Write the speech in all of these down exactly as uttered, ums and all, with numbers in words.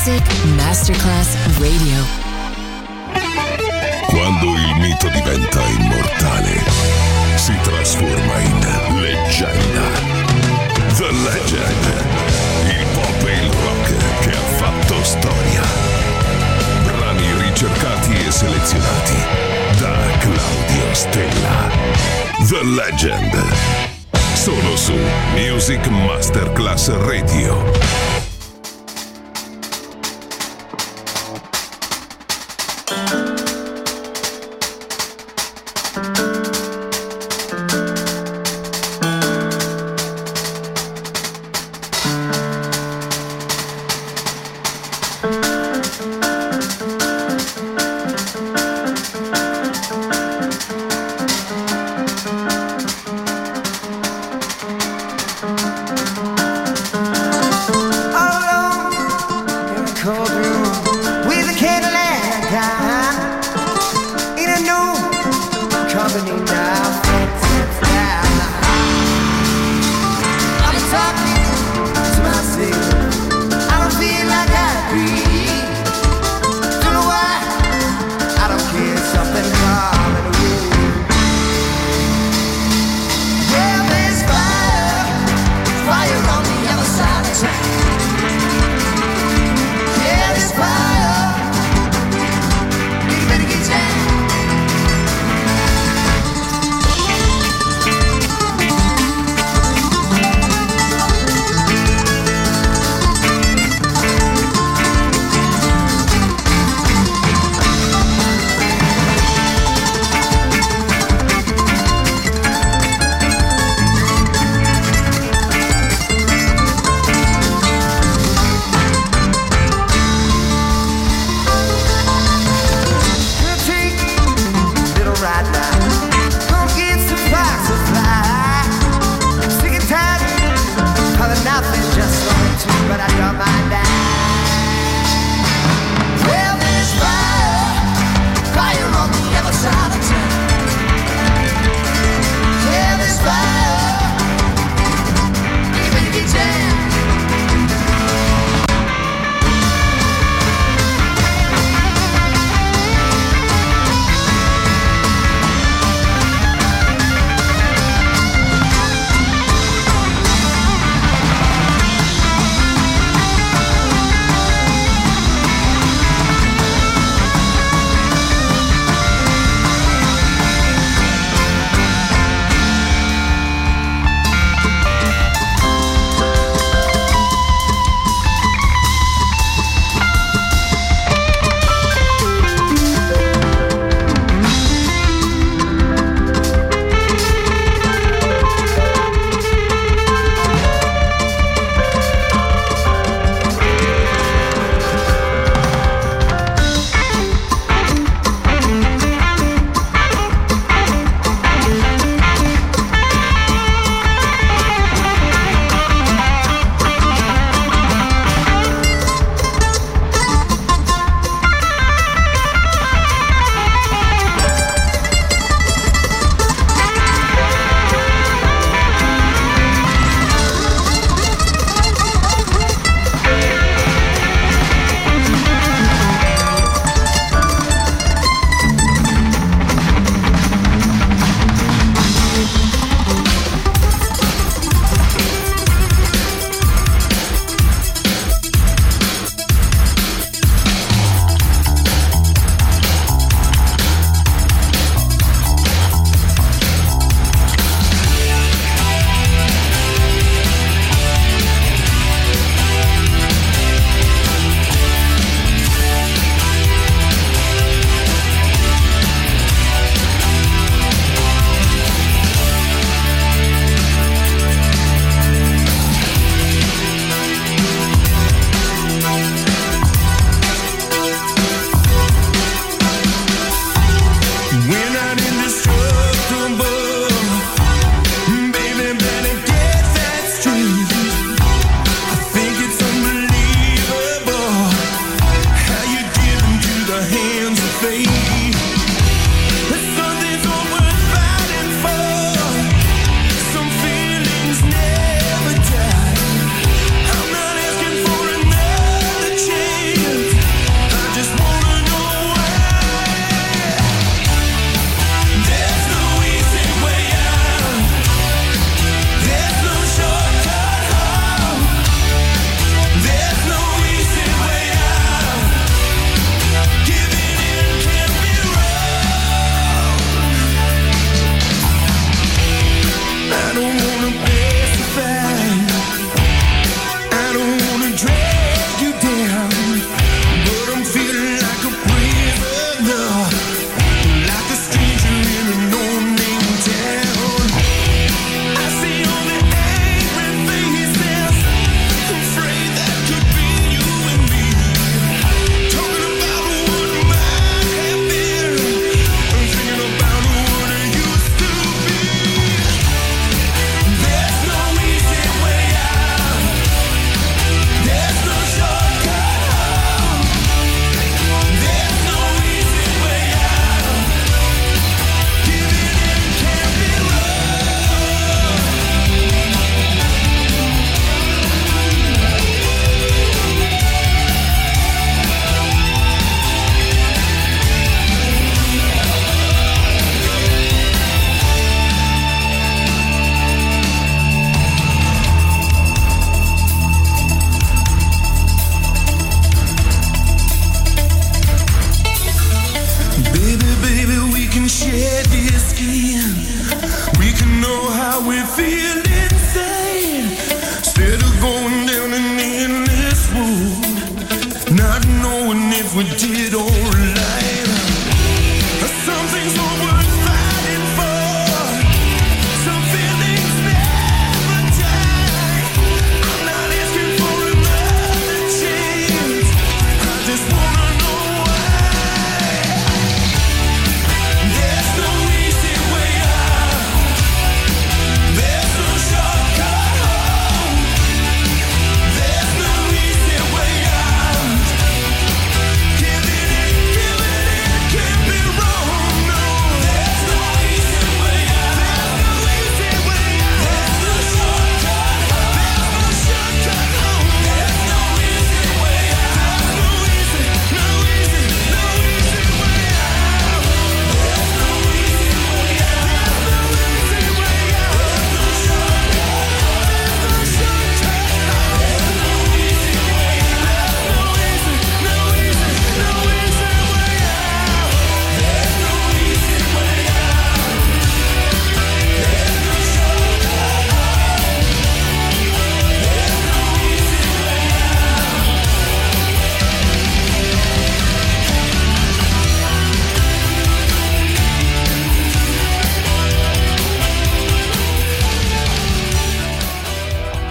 Music Masterclass Radio. Quando il mito diventa immortale, si trasforma in leggenda. The Legend, il pop e il rock che ha fatto storia. Brani ricercati e selezionati da Claudio Stella. The Legend, solo su Music Masterclass Radio.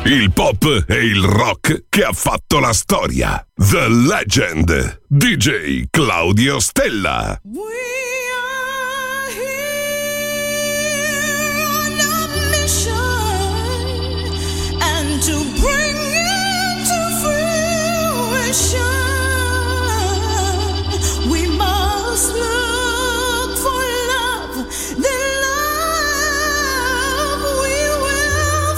il pop e il rock che ha fatto la storia. The Legend, D J Claudio Stella. To bring it to fruition, we must look for love, the love we will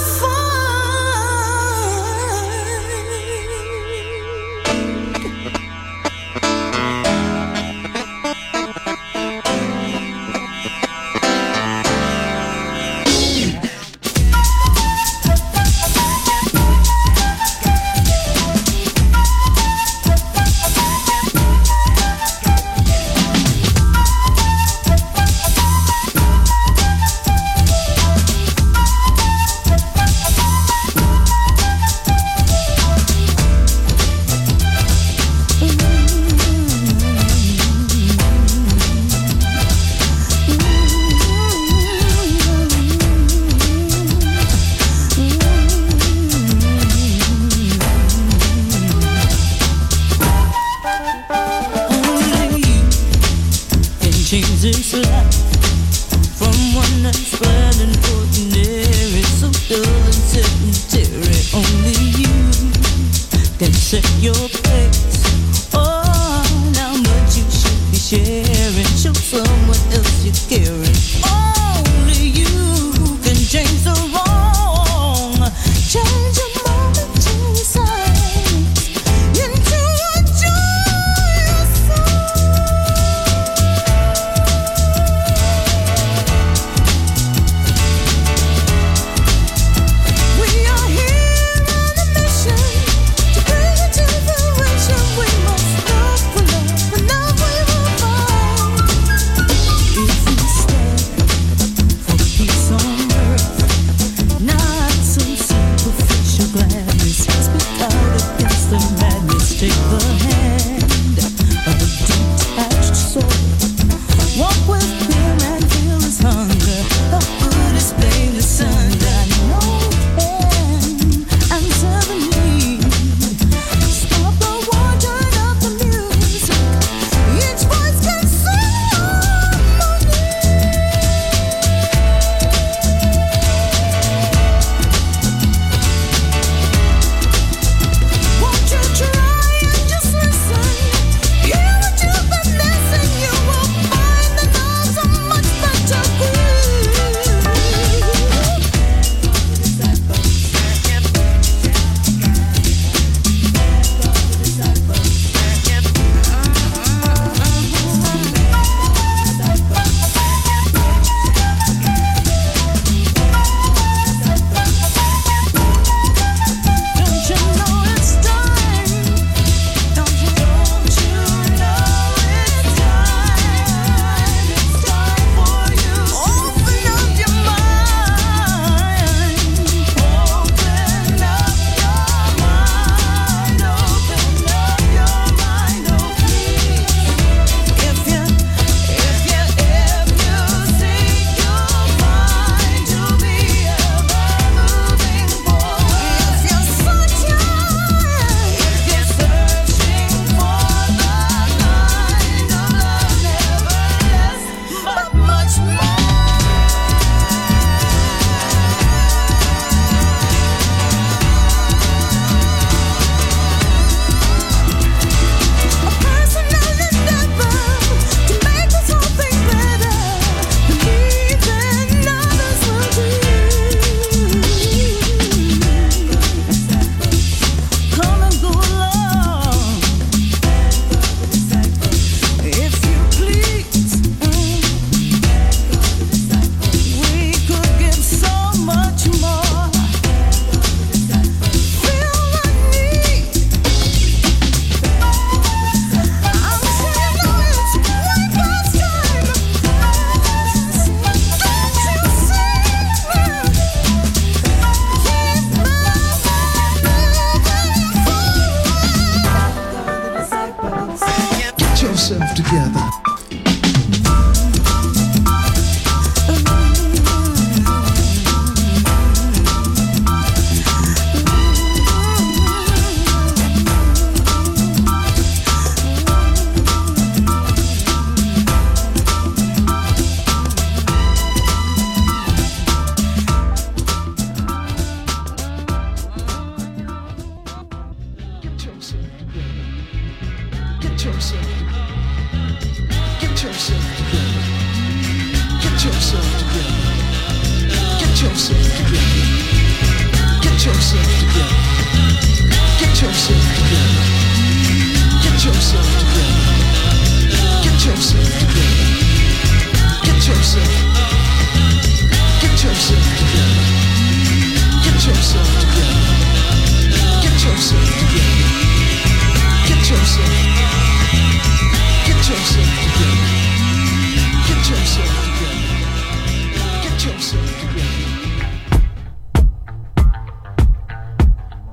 yourself together. Get yourself together. Get yourself together. Get yourself together. Get yourself together. Get yourself together. Get yourself together. Get yourself together. Get yourself. Get yourself together. Get yourself together. Get yourself together. Get yourself. Get yourself together. Get yourself together. Get yourself together.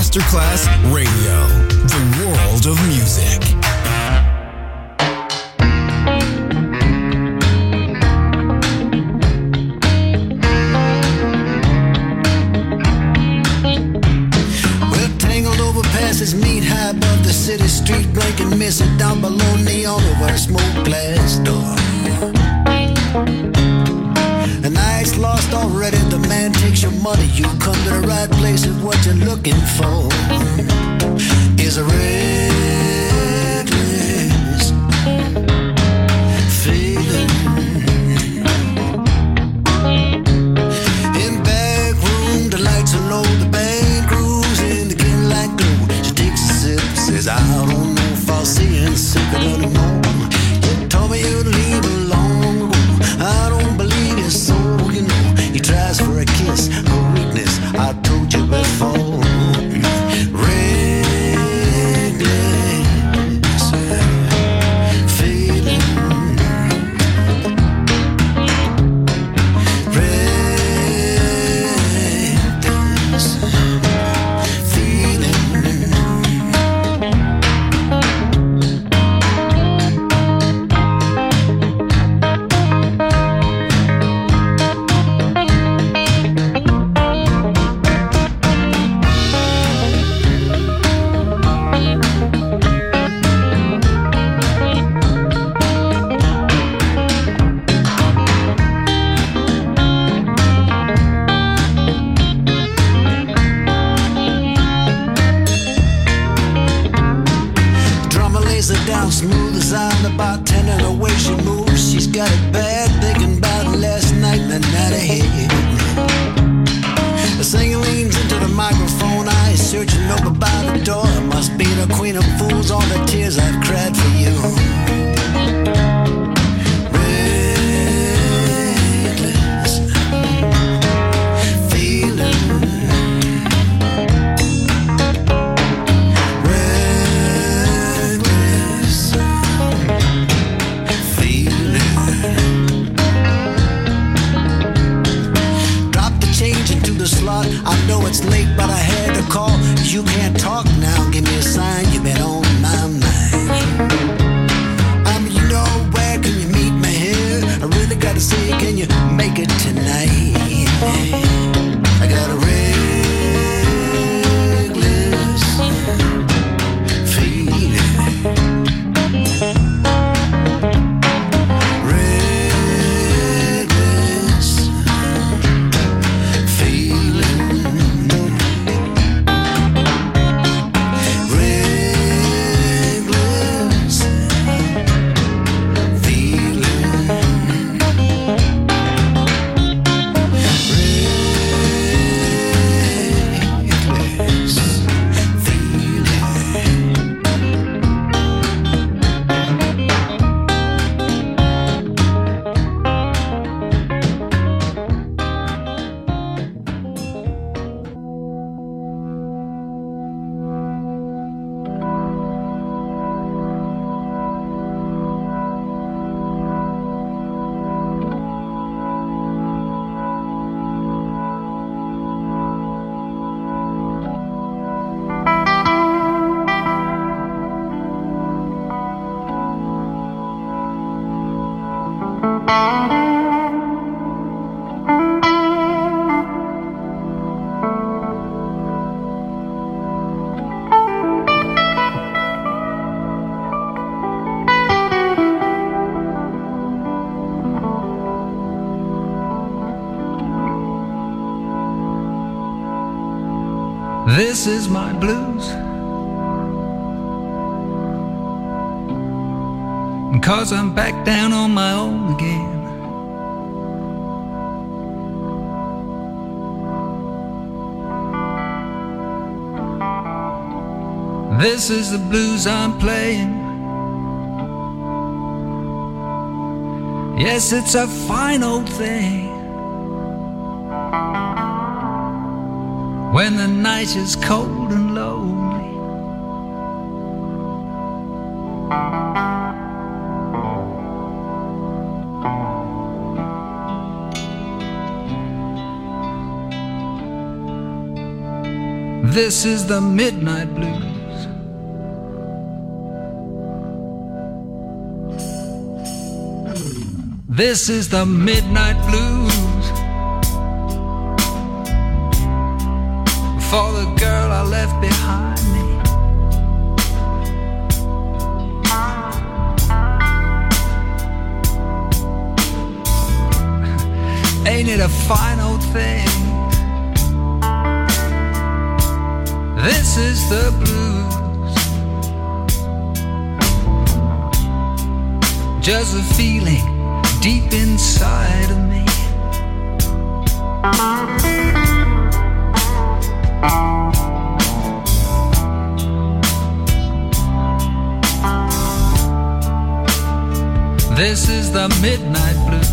Masterclass Radio, the world of music. We're tangled over passes, meet high above the city street, blinking, missing down below neon over a smoke glass door. The night's lost already, the man takes your money. You come to the right place if what you're looking for is a reckless feeling. In back room, the lights are low, the band grooves in the kin like glue. She takes a sip, says I don't know if I'll see you sick anymore. You told me you'd leave long ago. I don't believe you, so you know he tries for a kiss, a weakness I told you before. Reckless feeling, reckless feeling. Drummer lays her down smooth as I'm the bartender. The way she moves, she's got it bad. Thinking about last night and the night ahead. The singer leans into the microphone, eyes searching over by the door. It must be the queen of fools, all the tears I've cried for you. Reckless feeling, reckless feeling. Drop the change into the slot. I know it's late, but I had to call. You can't talk now, give me a sign. You've been on my mind. I mean, you know, where can you meet me here? I really gotta see, can you make it tonight? I got a reckless feeling. Reckless feeling. Reckless This is my blues, and 'cause I'm back down on my own again. This is the blues I'm playing. Yes, it's a fine old thing. When the night is cold and lonely, This is the midnight blues. This is the midnight blues for the girl I left behind me. Ain't it a fine old thing? This is the blues. Just a feeling deep inside of me. This is the midnight blues.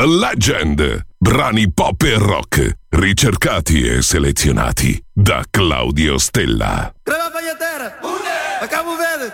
The Legend. Brani pop e rock, ricercati e selezionati da Claudio Stella. Crema pagliatera! A Cabo Verde!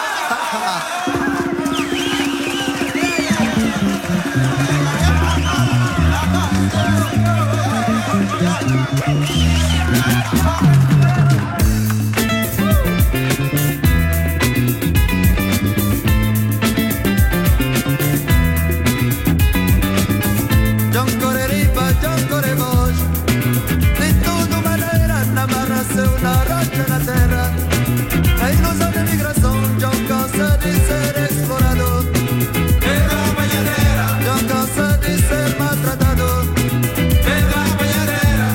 Una rocha en la tierra, hay ilusión de migración, yo cosa de ser explorado, en la bañadera, yo cosa de ser maltratado, en la bañadera.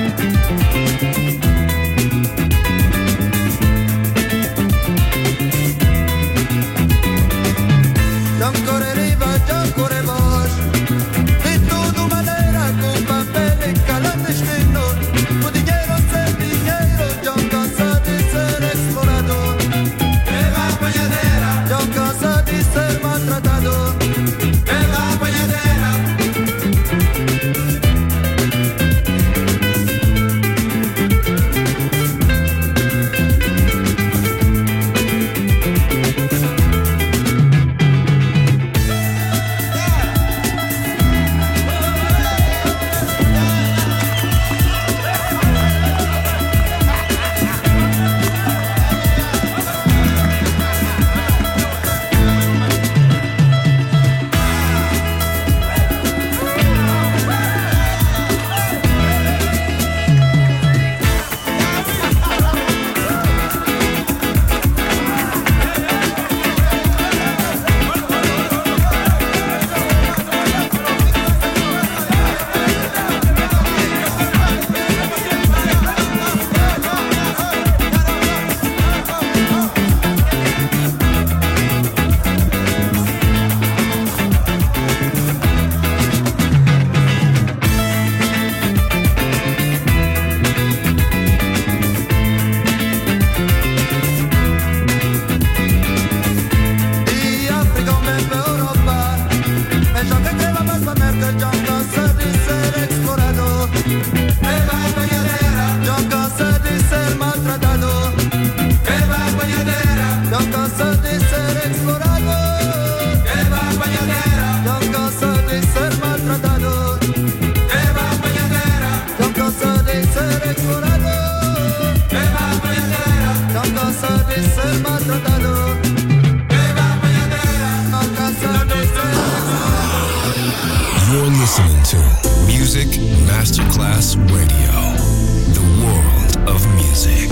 Yo corre arriba, yo corre vos, de toda manera, con papel y clandestino, con dinero se yo canso de ser explorado, en la bañadera. Yo canso de ser maltratado, en la bañadera. You're listening to Music Masterclass Radio, the world of music.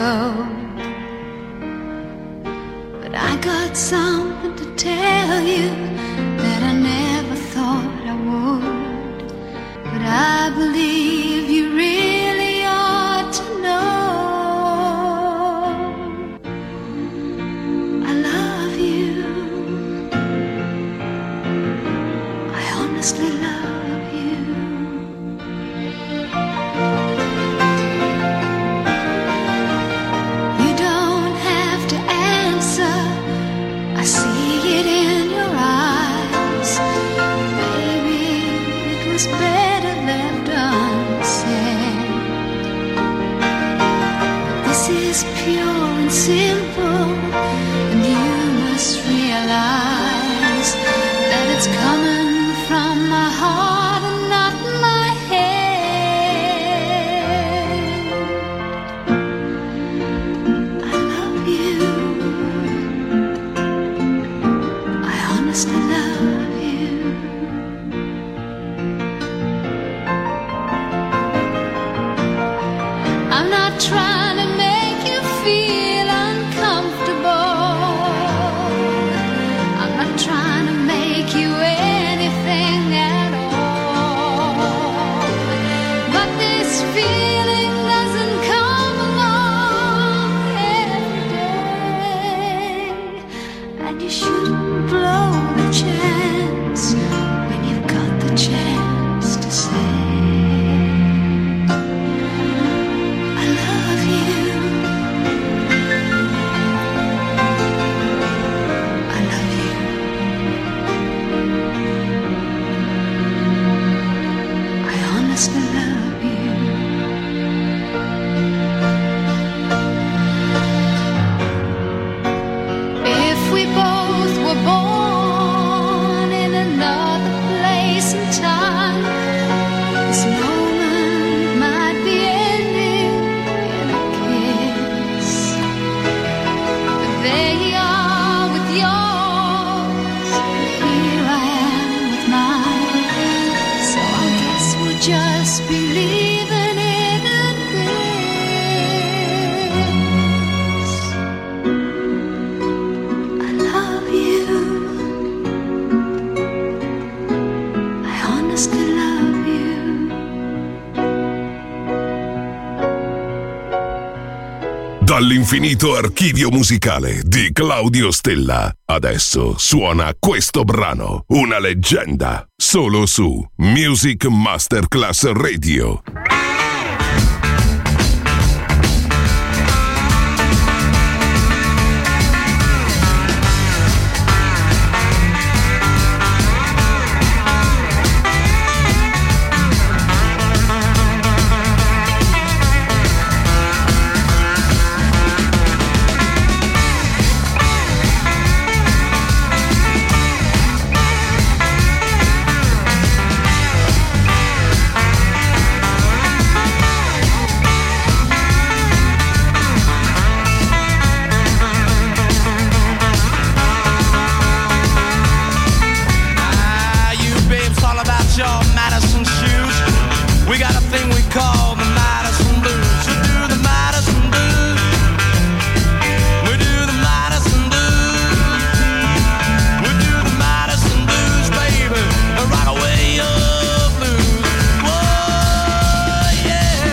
go. But I got something to tell you that I never thought I would. But I believe you really ought to know. I love you. I honestly love you. You don't have to answer. I see it in your eyes. Maybe it was better left unsaid. This is pure and simple, and you must realize that it's coming from my heart and not my head. I love you. I honestly love you. I'm not trying to make you feel uncomfortable. I'm not trying to make you anything at all. But this feeling doesn't come along every day. And you shouldn't blow the chance when you've got the chance to say, I love you. I love you. I honestly love you. If we both were born in another place and time, this moment might be ending in a kiss. But there you are with yours, and here I am with mine. So I guess we'll just be leaving it at this. I love you. I honestly love you. Dall'infinito archivio musicale di Claudio Stella. Adesso suona questo brano, una leggenda, solo su Music Masterclass Radio. Ah, you babes, all about your Madison shoes. We got a thing we call the Madison Blues. We do the Madison Blues. We do the Madison Blues. We do the Madison Blues, baby. Rock away your blues. Whoa, yeah.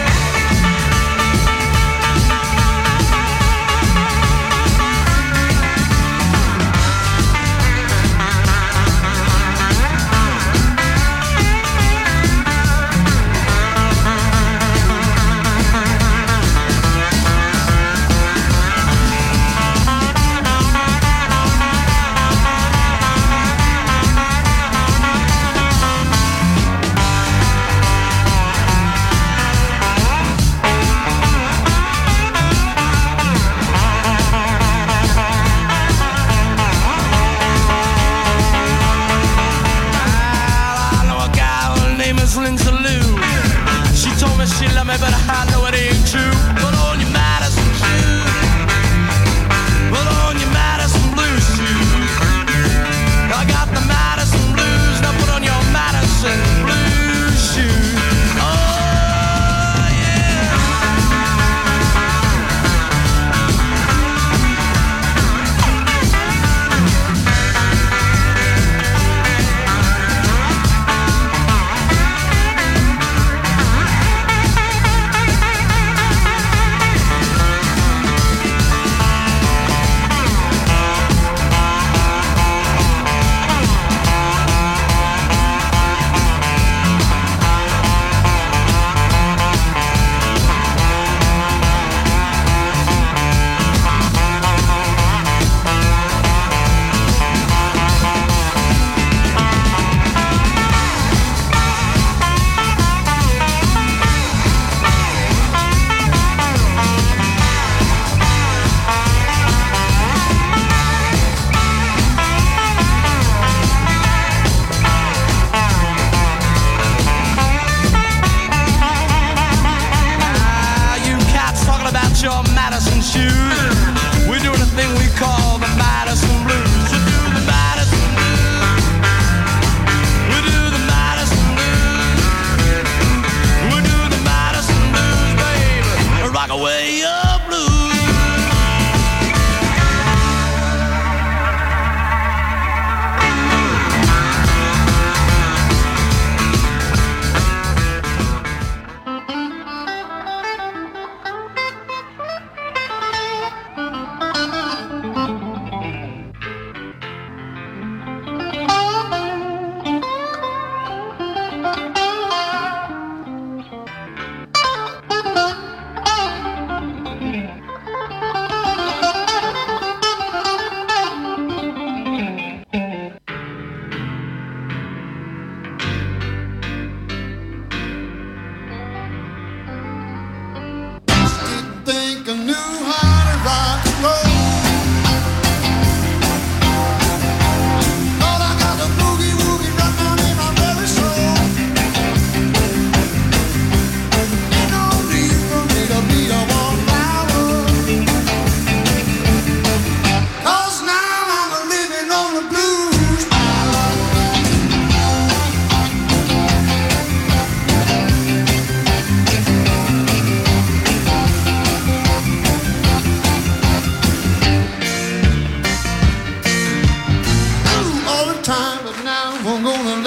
I know a gal, her name is Lindsay Lou. She told me she loved me, but I know it ain't true. Put on your Madison shoes. Put on your Madison Blues shoes. I got the Madison Blues. Now put on your Madison Blues shoes. Oh, yeah.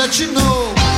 let you know.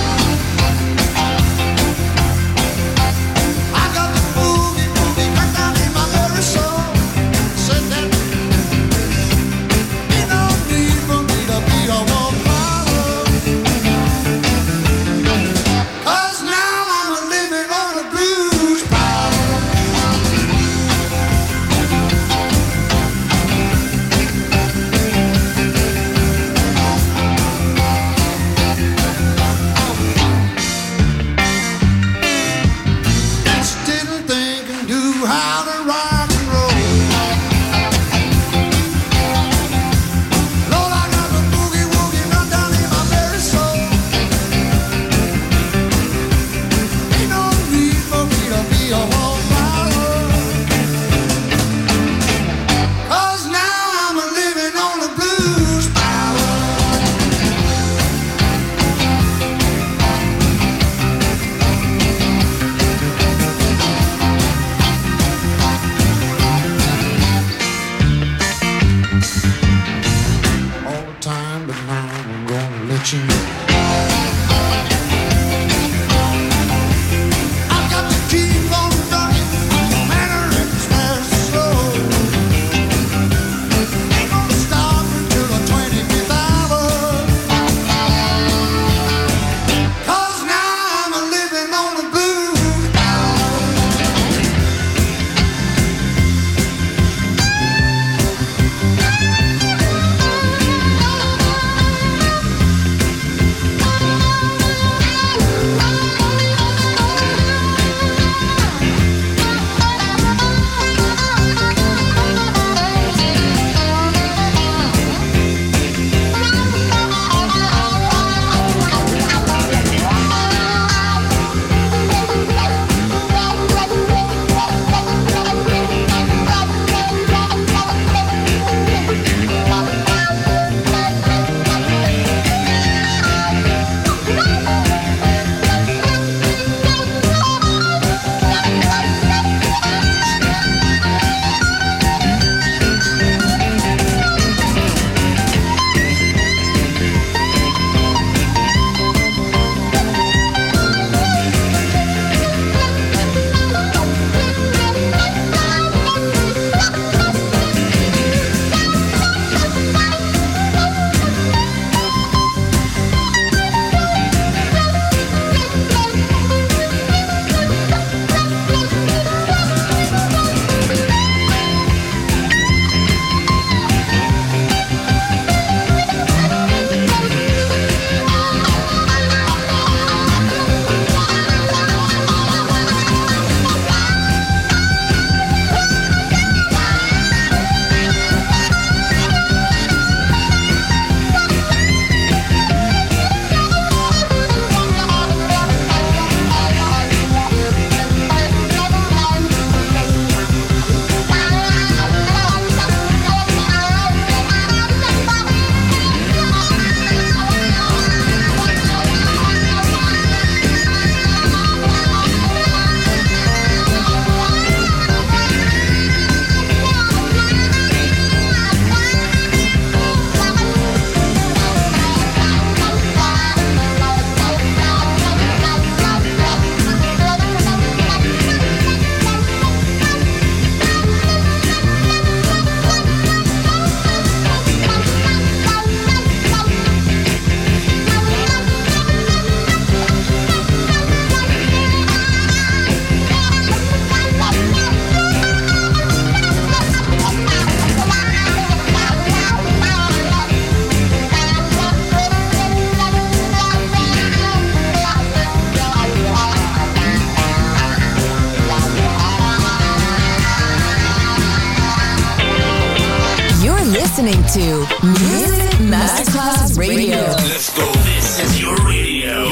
listening to Music Masterclass Radio. Let's go. This is your radio.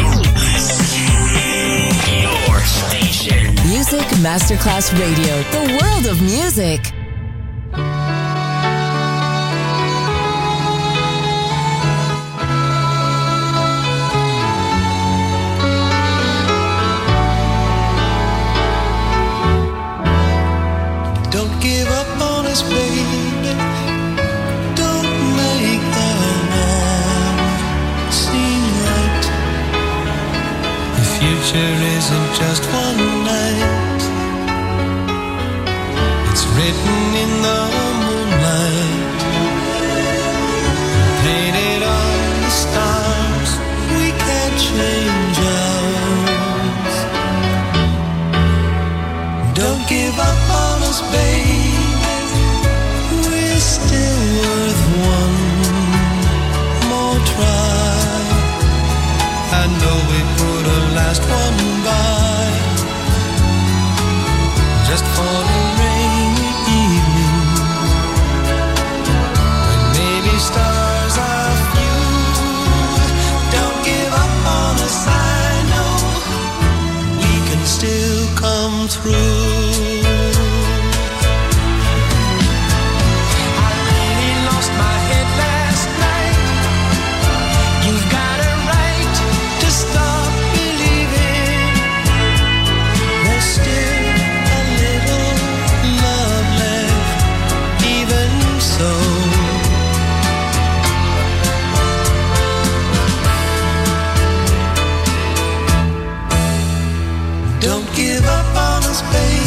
Your station. Music Masterclass Radio. The world of music. Don't give up on us, baby. Don't make the war seem right future isn't just one night. It's written in the moonlight, painted on the stars. We can't change ours. Don't give up on us, babe. We're still worth one more try. I know we put a last one by, just for a rainy evening, when maybe stars are few. Don't give up on us, I know we can still come through. I really lost my head last night. You've got a right to stop believing. There's still a little love left, even so. Don't give up on us, baby.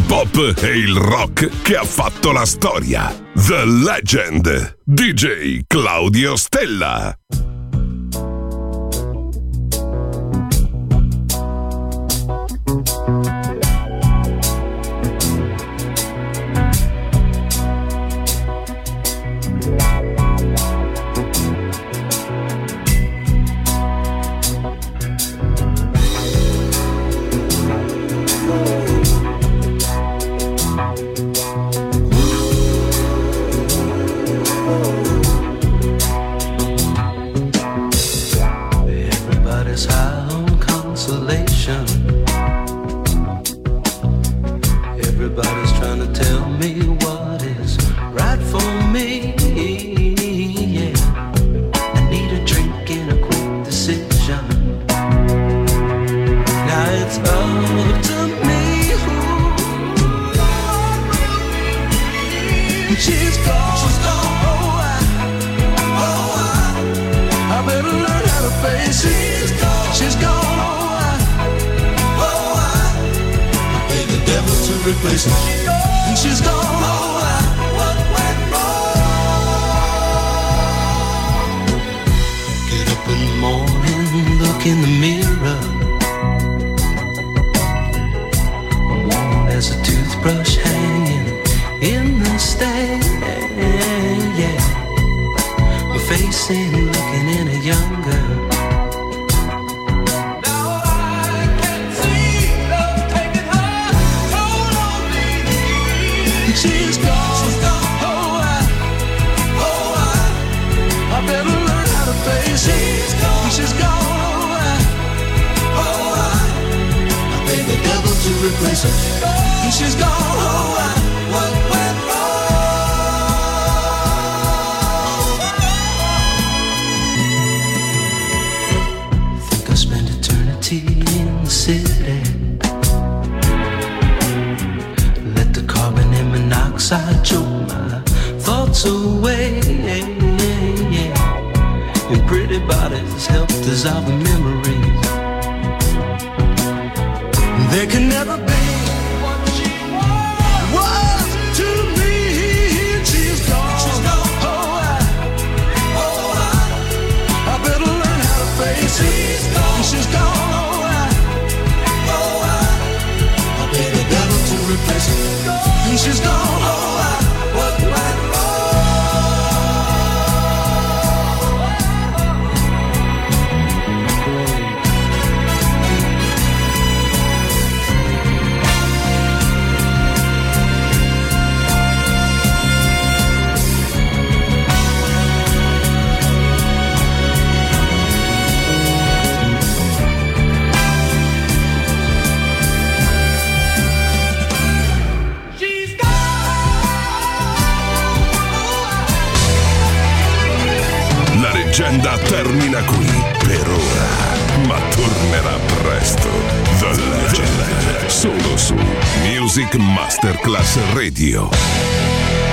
l'hip hop e il rock che ha fatto la storia. The Legend, D J Claudio Stella. Termina qui per ora, ma tornerà presto. The Legend, solo su Music Masterclass Radio.